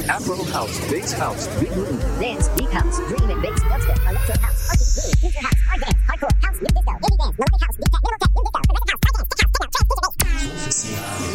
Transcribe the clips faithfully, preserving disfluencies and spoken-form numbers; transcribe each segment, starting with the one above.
Afro house, bass house, big room, dance, deep house, dream and bass, dubstep, electro house, R and B, future house, hard dance, hardcore, house, new disco, indie dance, melodic house, deep tech, middle tech, new disco, progressive house, high dance, tech house, techno,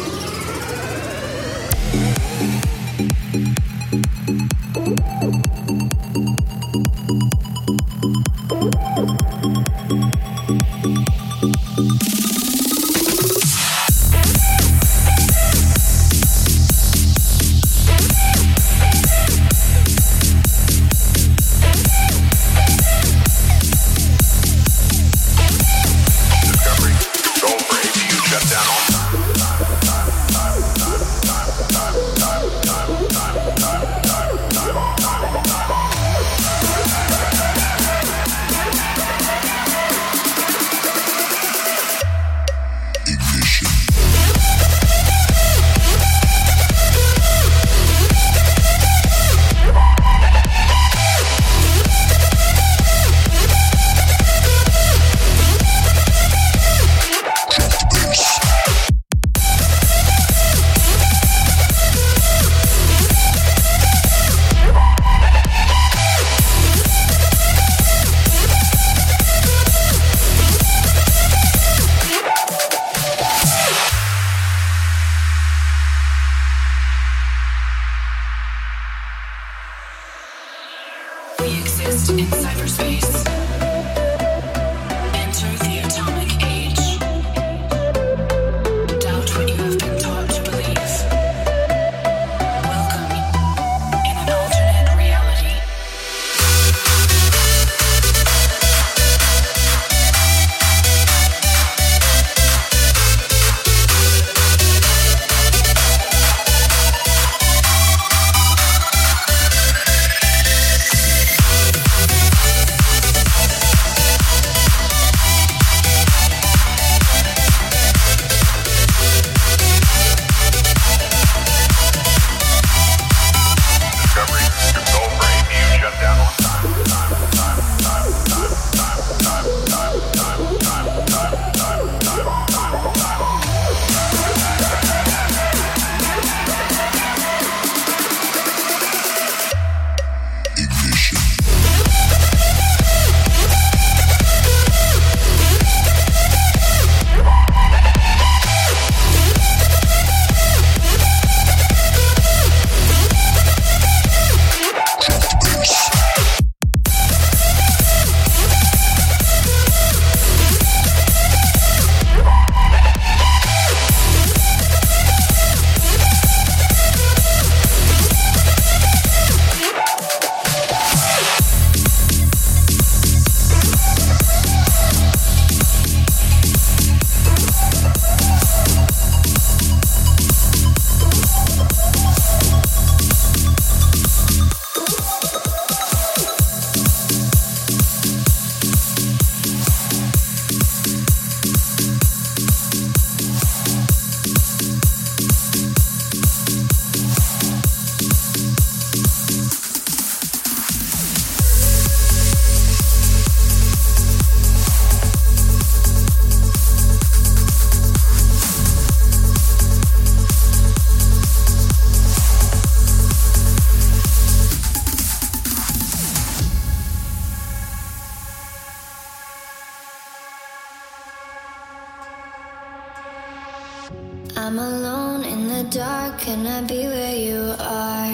I'm alone in the dark, can I be where you are?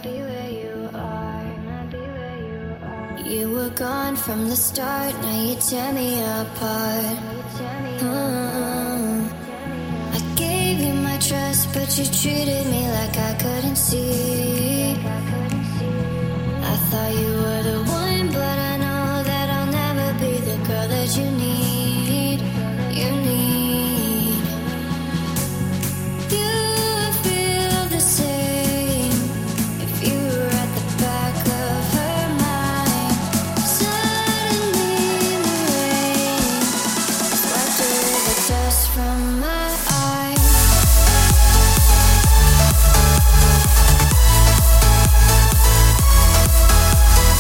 You were gone from the start, now you tear me apart. uh, I gave you my trust, but you treated me like I couldn't see. I thought you were the one, but I know that I'll never be the girl that you need. You need. We'll be right back.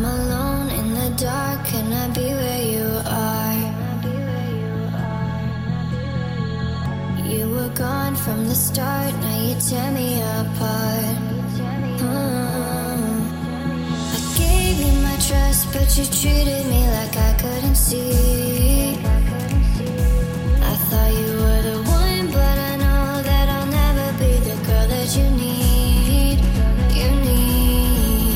I'm alone in the dark, can I be where you are? You were gone from the start, now you tear me apart. Mm. I gave you my trust, but you treated me like I couldn't see. I thought you were the one, but I know that I'll never be the girl that you need. You need.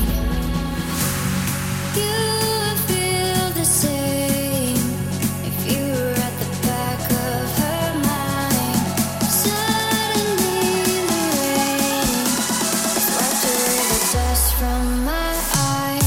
You would feel the same if you were at the back of her mind. Suddenly the rain swept away the dust from my eyes.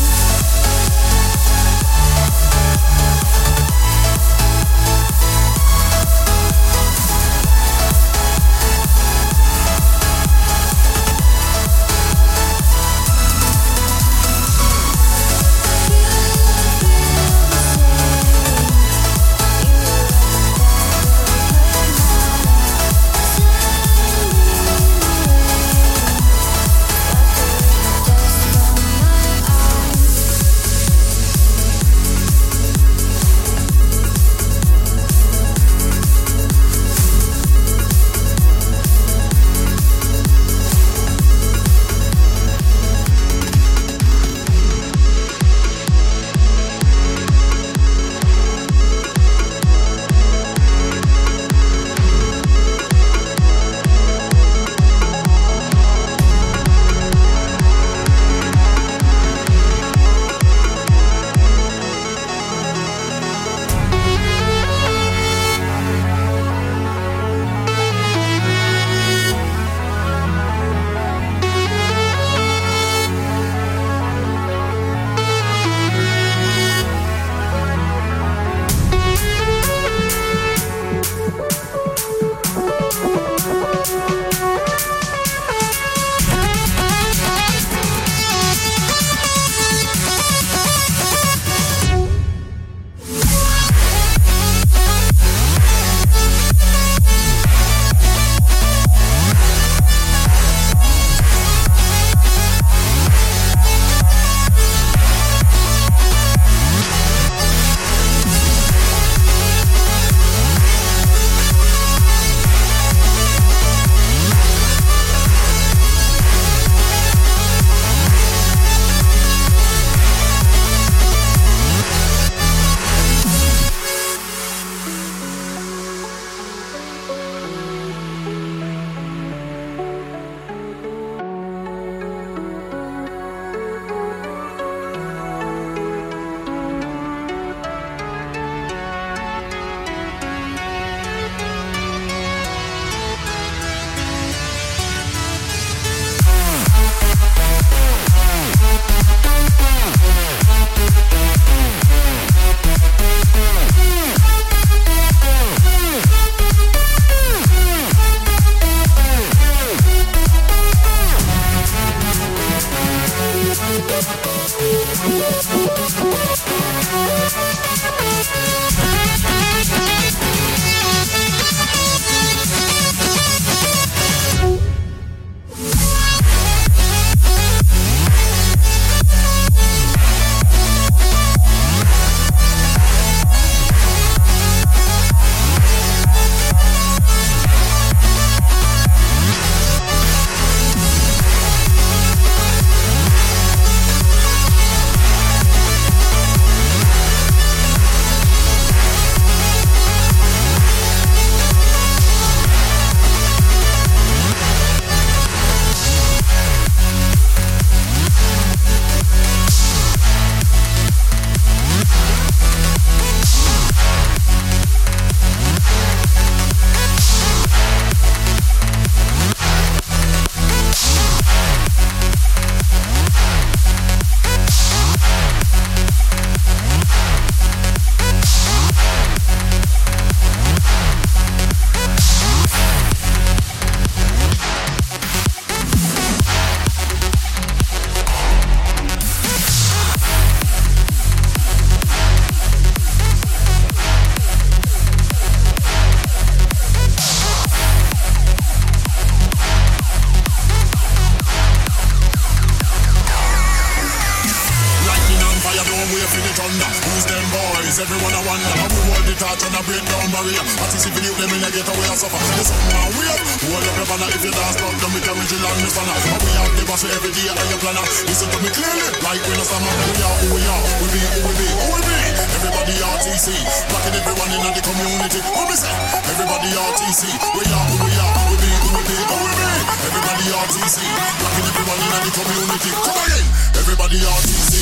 everyone I wonder. How we hold the torch and I break down barrier. At least if you them in a get away and suffer. There's something wrong weird. Hold up your banner if you dance down, then we can reach the land, Miss Banner. And we have the boss for every day and your planner. Listen to me clearly, like we know some of who we are, who we are. We be, who we be, who we be. Everybody R T C, rocking everyone in the community. What we say? Everybody R T C, we are, who we are. We be, who we be, who we be. Everybody R T C, rocking everyone in the community. Come again, everybody R T C.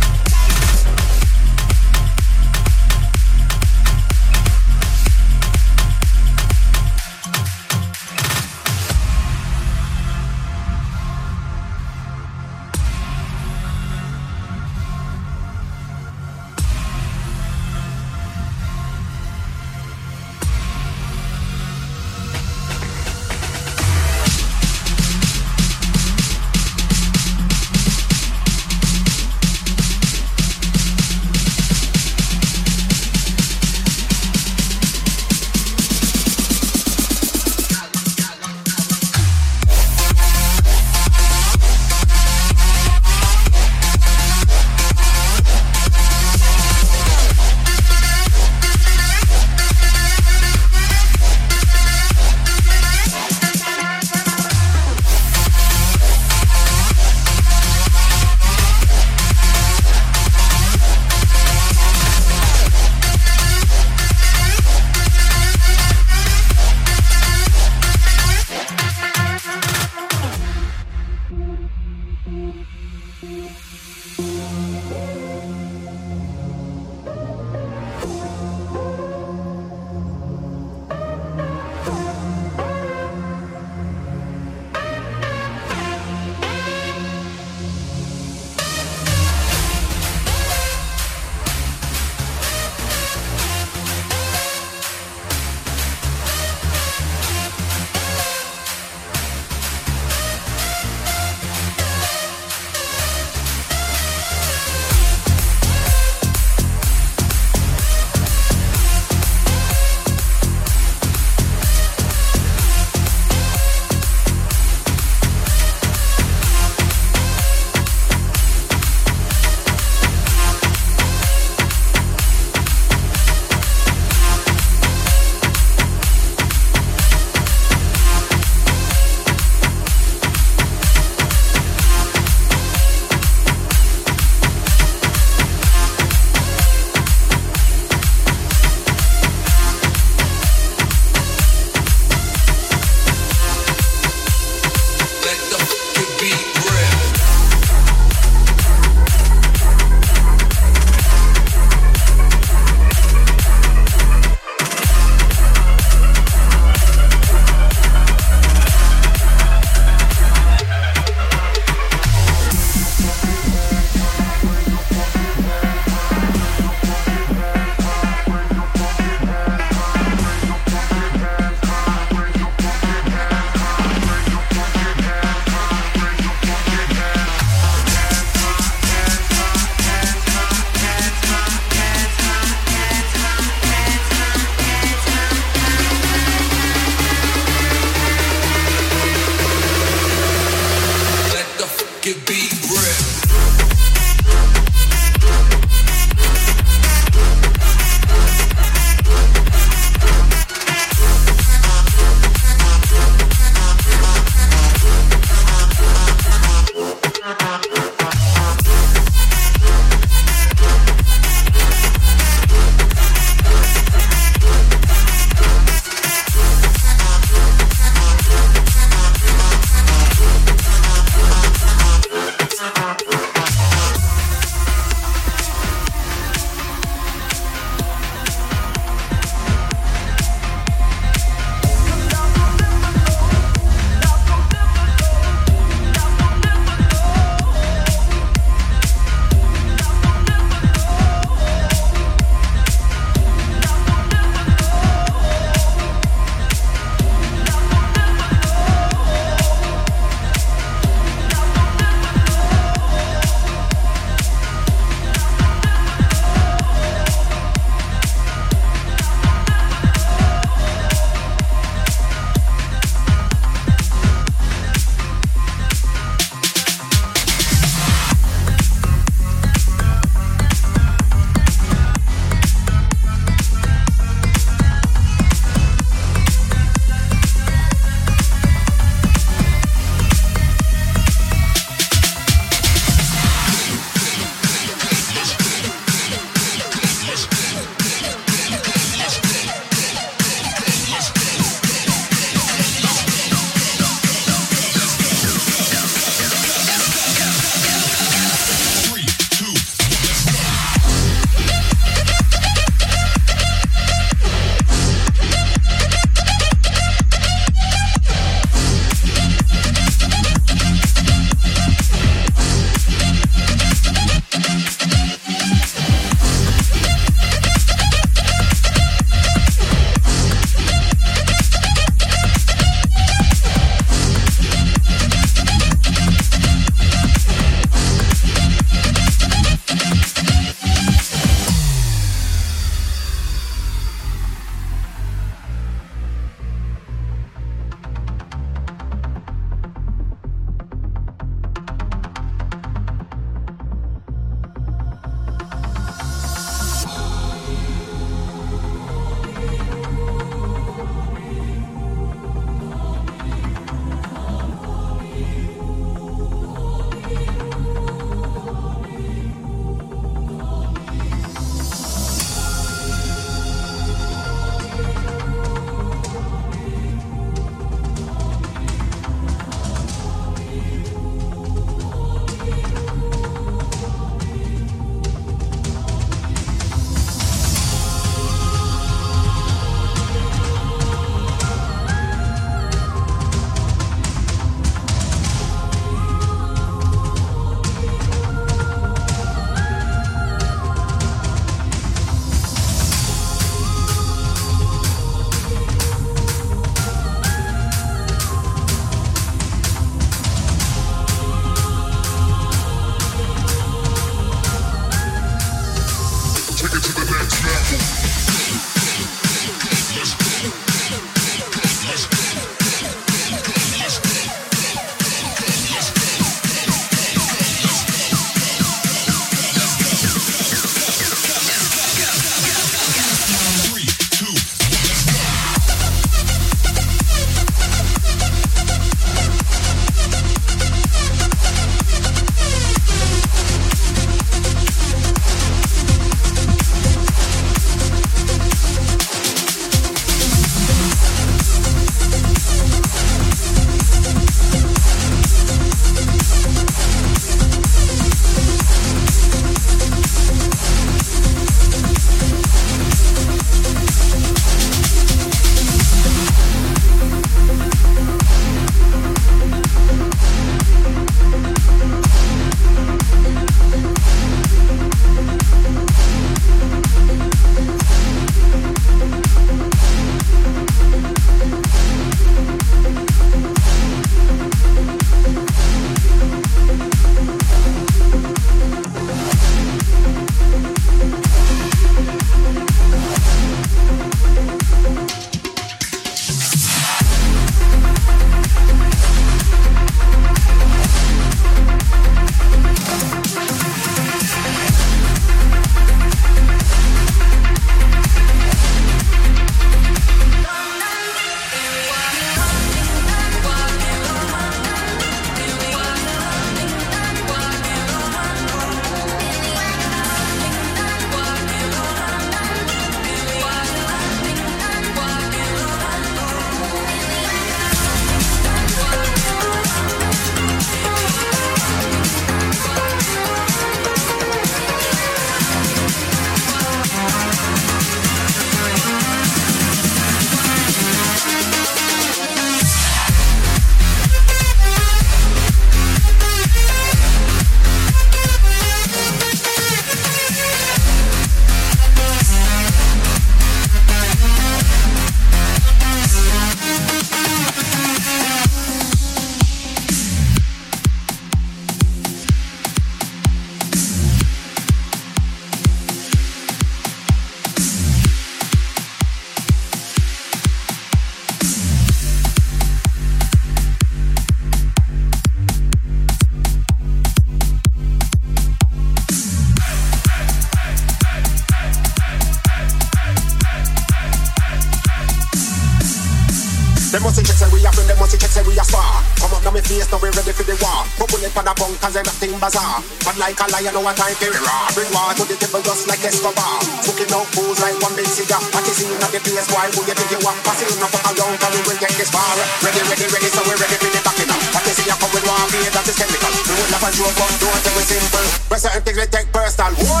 Them must check say we a friend, them must check say we a spar. Come up now me face, now we ready for the war. Bubble it on a bunk, cause everything bazaar. But like a lion, no one time for it raw. Bring war to the table just like Escobar. Smoking out fools like one big cigar. What you see in the place, why would you think you want? Pass it enough for a long time, we will get this far. Ready, ready, ready, so we ready for the backing up. What you see, I come with war, fear that is chemical. We will laugh and joke, but don't take it simple. But certain things we take personal, boy.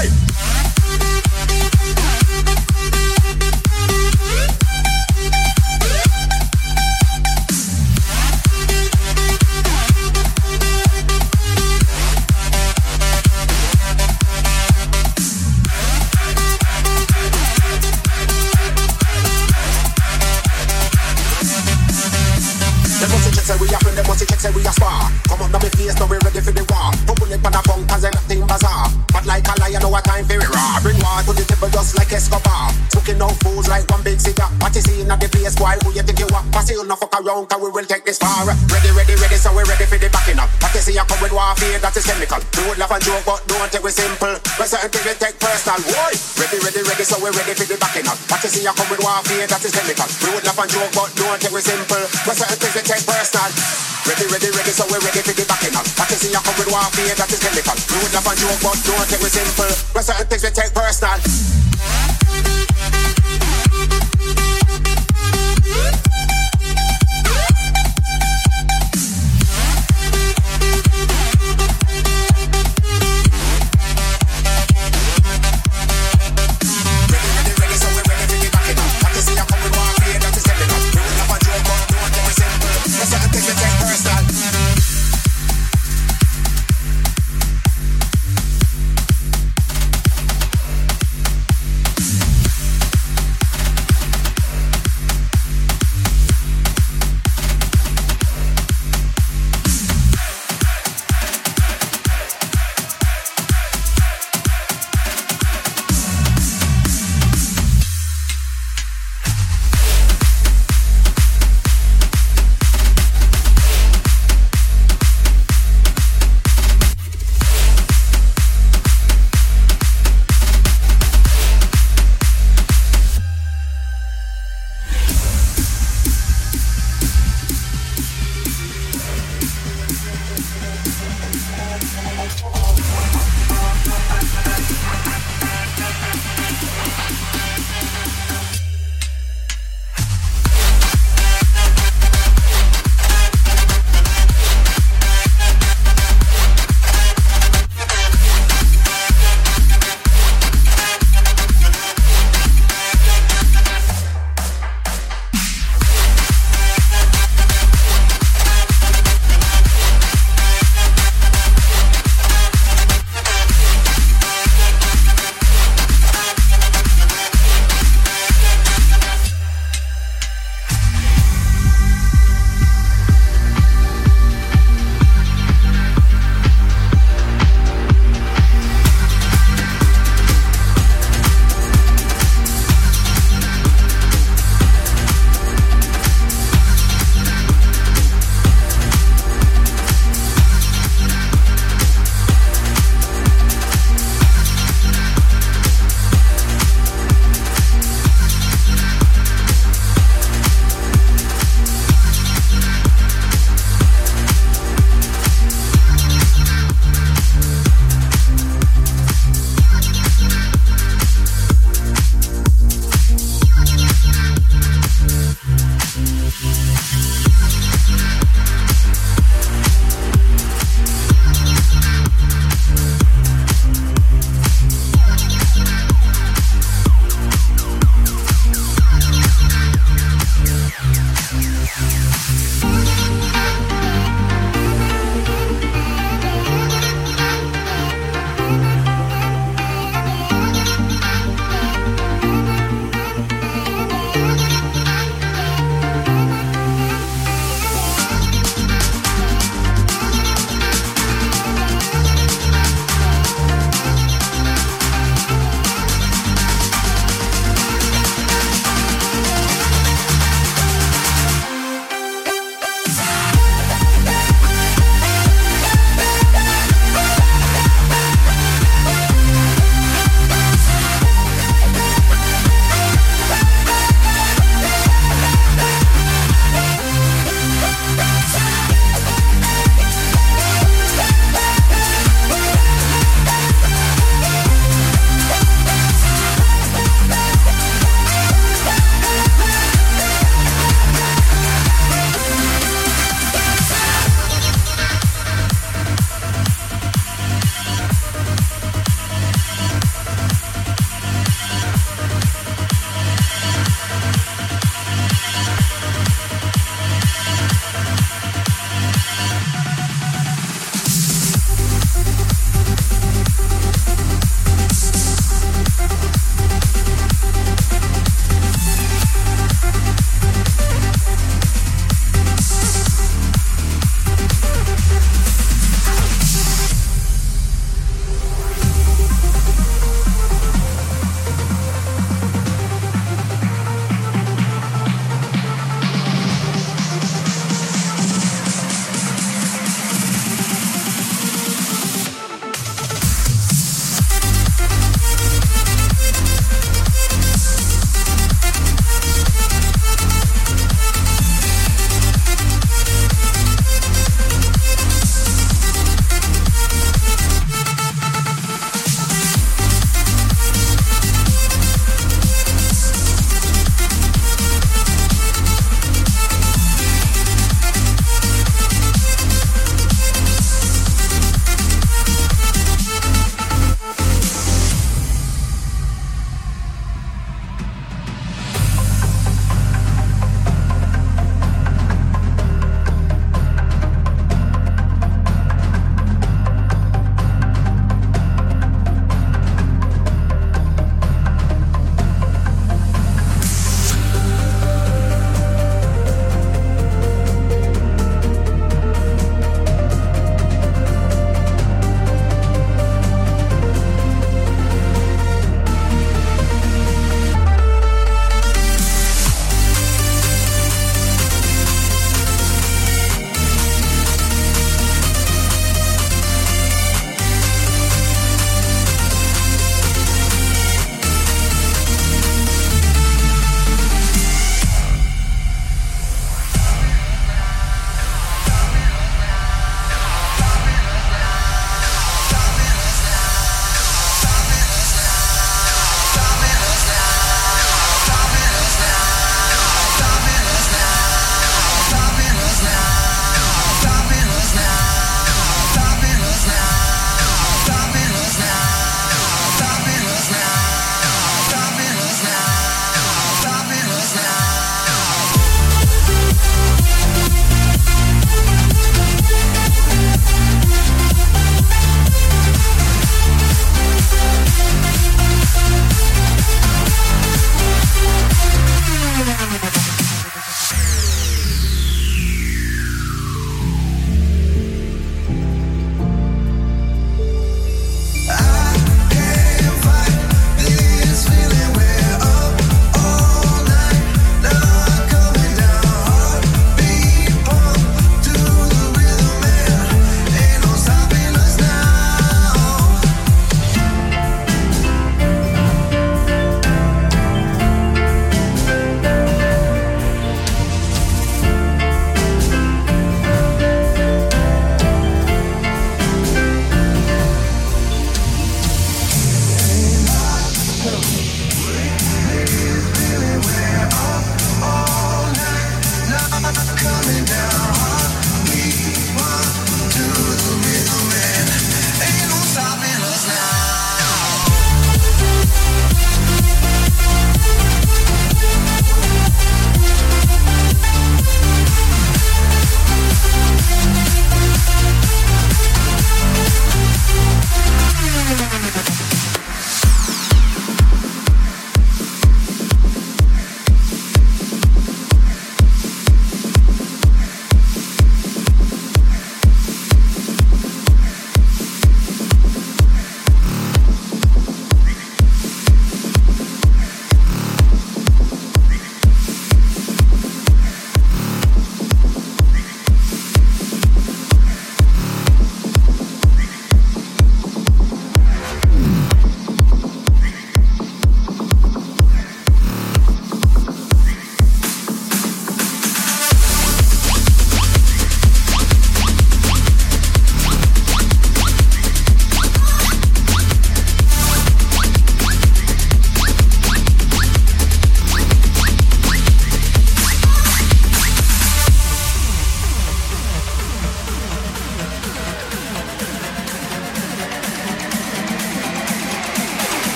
Say we a friend, them must check, say we a spar. Come up now me face, now we ready for the war. Bubble it on a bunk, cause everything bazaar. But like a lion, no a time for it raw. Bring war to the table just like Escobar. Smoking out fools like one big cigar. What you see in the place, boy, who you think you are? Pass it no fuck around, cause we will take this far. Ready, ready, ready, so we ready for the backing up. What you see, I come with warfare, that is chemical. We would laugh and joke, but don't take it simple. But certain things we take personal, boy. Ready, ready, ready, so we ready for the backing up. What you see, I come with warfare, that is chemical. We would laugh and joke, but don't take it simple. But certain things we take personal. Ready, ready, ready, so we're ready for the backing up. What you see, I come with warfare, that is chemical. We would laugh and joke, but don't take it simple. But certain things we take personal.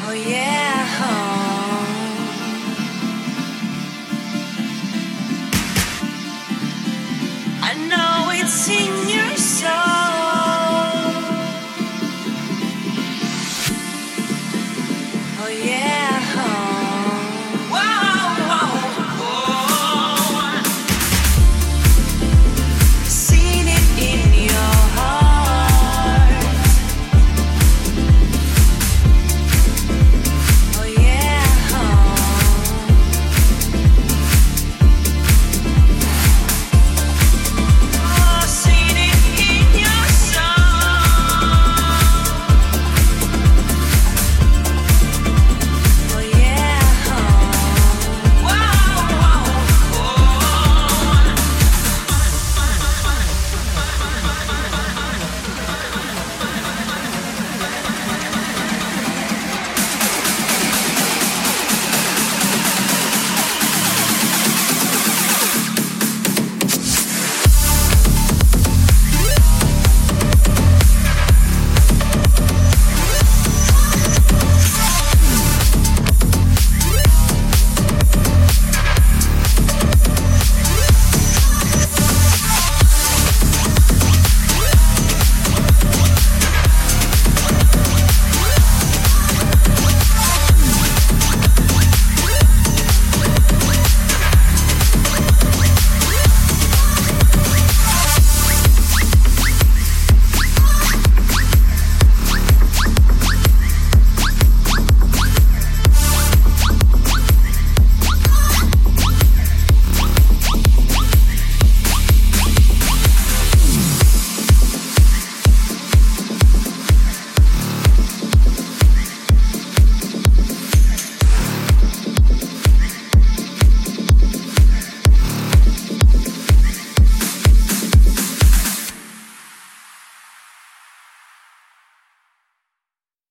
Oh yeah. I know it's in your soul. Oh yeah.